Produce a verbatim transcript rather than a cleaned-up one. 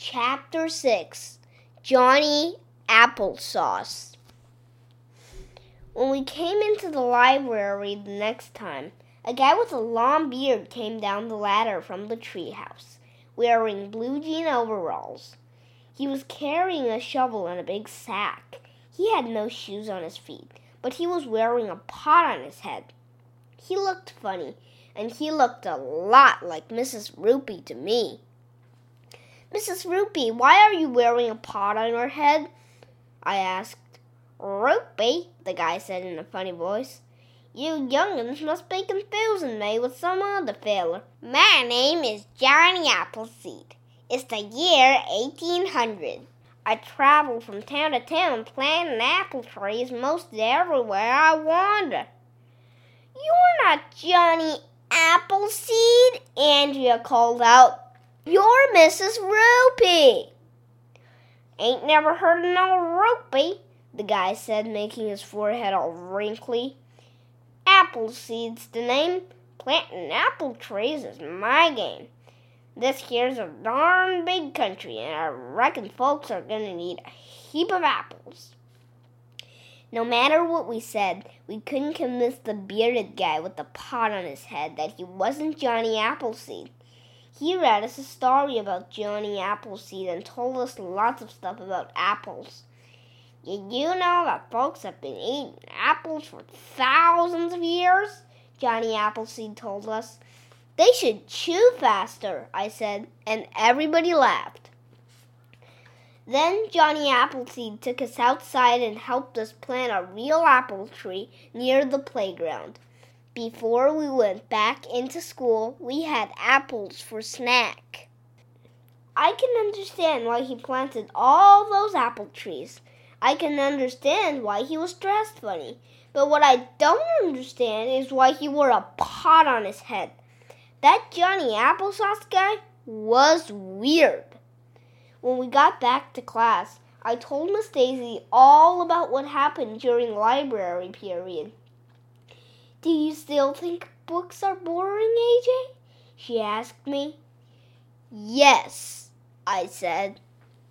Chapter six, Johnny Applesauce. When we came into the library the next time, a guy with a long beard came down the ladder from the treehouse, wearing blue jean overalls. He was carrying a shovel and a big sack. He had no shoes on his feet, but he was wearing a pot on his head. He looked funny, and he looked a lot like Missus Rupee to me. "Missus Rupee, why are you wearing a pot on your head?" I asked. "Rupee," the guy said in a funny voice. "You young'uns must be confusing me with some other feller. My name is Johnny Appleseed. It's the year eighteen hundred. I travel from town to town planting apple trees most everywhere I wander." "You're not Johnny Appleseed," Andrea called out. "You're Missus Rupee." "Ain't never heard of no Rupee," the guy said, making his forehead all wrinkly. "Appleseed's the name. Planting apple trees is my game. This here's a darn big country, and I reckon folks are going to need a heap of apples." No matter what we said, we couldn't convince the bearded guy with the pot on his head that he wasn't Johnny Appleseed. He read us a story about Johnny Appleseed and told us lots of stuff about apples. "Did you know that folks have been eating apples for thousands of years?" Johnny Appleseed told us. "They should chew faster," I said, and everybody laughed. Then Johnny Appleseed took us outside and helped us plant a real apple tree near the playground. Before we went back into school, we had apples for snack. I can understand why he planted all those apple trees. I can understand why he was dressed funny. But what I don't understand is why he wore a pot on his head. That Johnny Applesauce guy was weird. When we got back to class, I told Miss Daisy all about what happened during library period. "Do you still think books are boring, A J?" she asked me. "Yes," I said.